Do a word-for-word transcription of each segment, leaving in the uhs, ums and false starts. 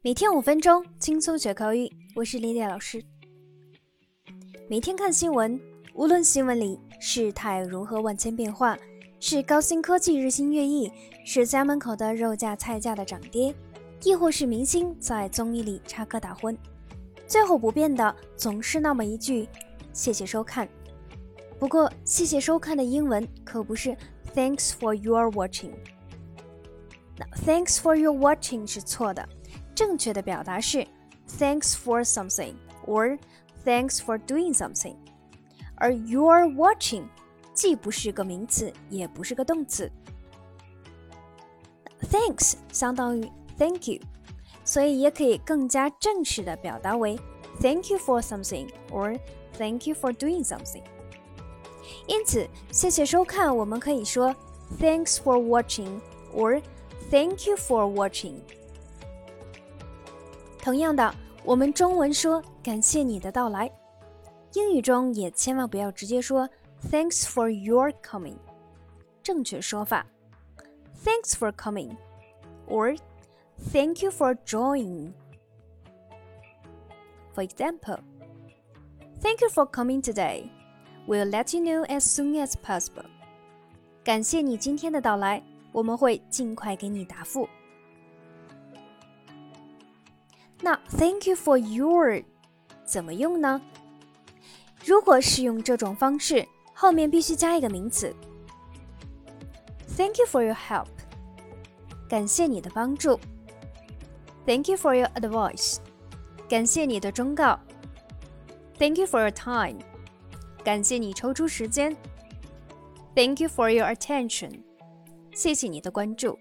每天五分钟，轻松学口语。我是莉莉老师。每天看新闻，无论新闻里事态如何万千变化，是高新科技日新月异，是家门口的肉价菜价的涨跌，亦或是明星在综艺里插科打诨，最后不变的总是那么一句谢谢收看。不过谢谢收看的英文可不是 Thanks for your watching。 那 Thanks for your watching 是错的，正确的表达是 Thanks for something or Thanks for doing something。 而 you're watching 既不是个名词，也不是个动词。 Thanks 相当于 Thank you， 所以也可以更加正式的表达为 Thank you for something or Thank you for doing something。 因此谢谢收看我们可以说 Thanks for watching or Thank you for watching。 同样的，我们中文说感谢你的到来，英语中也千万不要直接说 Thanks for your coming。 正确说法 Thanks for coming or Thank you for joining。 For example, Thank you for coming today. We'll let you know as soon as possible. 感谢你今天的到来，我们会尽快给你答复。那 Thank you for your 怎么用呢？如果是用这种方式，后面必须加一个名词。 Thank you for your help， 感谢你的帮助。 Thank you for your advice， 感谢你的忠告。 Thank you for your time， 感谢你抽出时间。 Thank you for your attention， 谢谢你的关注。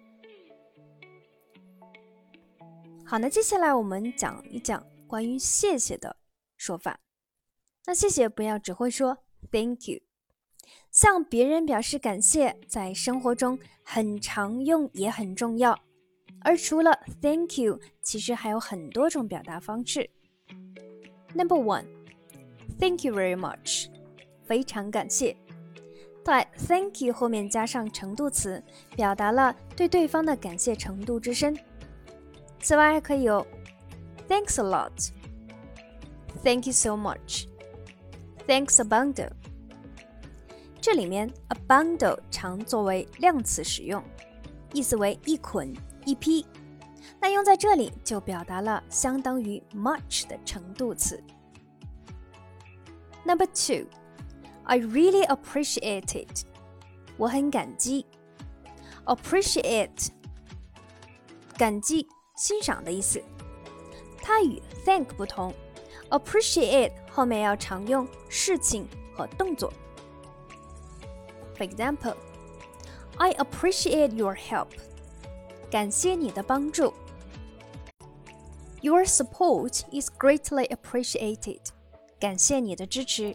好，那接下来我们讲一讲关于谢谢的说法。那谢谢不要只会说 Thank you， 向别人表示感谢在生活中很常用也很重要。而除了 Thank you， 其实还有很多种表达方式。 Number one， Thank you very much， 非常感谢。在 Thank you 后面加上程度词，表达了对对方的感谢程度之深。此外还可以有 Thanks a lot， Thank you so much， Thanks a bundle。 这里面 a bundle 常作为量词使用，意思为一捆一批，那用在这里就表达了相当于 much 的程度词。 Number two， I really appreciate it， 我很感激。 Appreciate 感激欣赏的意思，它与 thank 不同， appreciate 后面要常用事情和动作。 For example, I appreciate your help， 感谢你的帮助。 Your support is greatly appreciated， 感谢你的支持。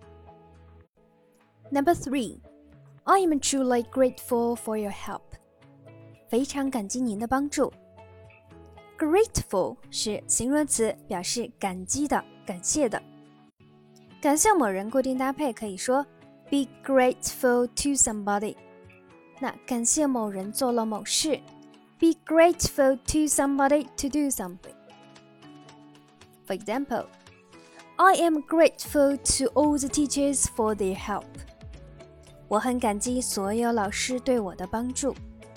Number three, I am truly grateful for your help， 非常感激您的帮助。Grateful 是形容词，表示感激的、感谢的。感谢某人固定搭配可以说 be grateful to somebody。 那感谢某人做了某事 be grateful to somebody to do something。 For example, I am grateful to all the teachers for their help。 我很感激所有老师对我的帮助。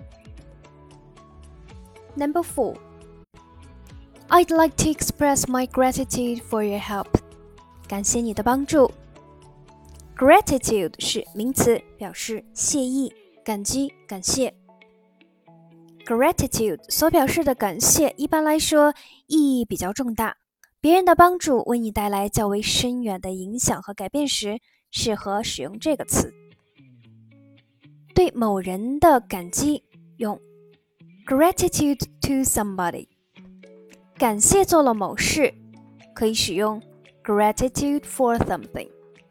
Number four，I'd like to express my gratitude for your help。 感谢你的帮助。 Gratitude 是名词，表示谢意、感激、感谢。 Gratitude 所表示的感谢一般来说意义比较重大，别人的帮助为你带来较为深远的影响和改变时，适合使用这个词。对某人的感激用 Gratitude to somebody。感谢做了某事，可以使用 gratitude for something。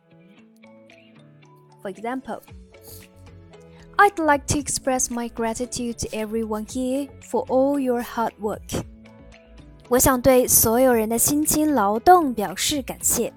For example, I'd like to express my gratitude to everyone here for all your hard work。 我想对所有人的辛勤劳动表示感谢。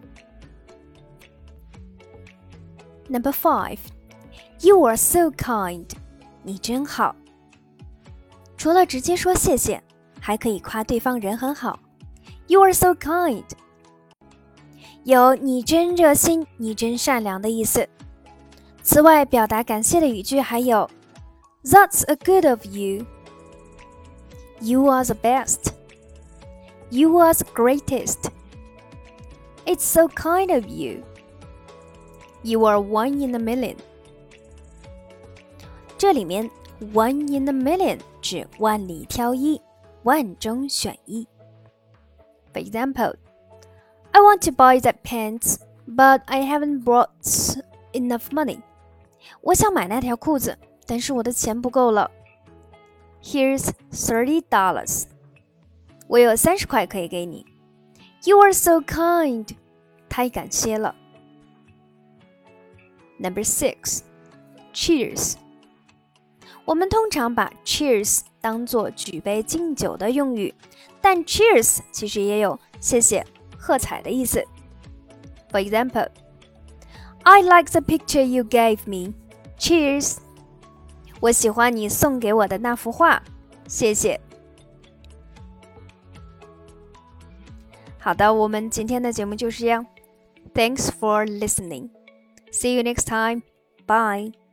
Number five, You are so kind， 你真好。除了直接说谢谢， 还可以夸对方人很好。You are so kind. 有你真热心，你真善良的意思。此外，表达感谢的语句还有 That's a good of you. You are the best. You are the greatest. It's so kind of you. You are one in a million. 这里面 one in a million 指万里挑一，万中选一。For example, I want to buy that pants, but I haven't brought enough money. 我想买那条裤子，但是我的钱不够了。Here's thirty dollars. 我有三十块可以给你。You are so kind. 太感谢了。Number six, cheers. 我们通常把 cheers 当作举杯敬酒的用语，但 cheers 其实也有谢谢、喝彩的意思。For example, I like the picture you gave me. Cheers. 我喜欢你送给我的那幅画，谢谢。好的，我们今天的节目就是这样。Thanks for listening. See you next time. Bye.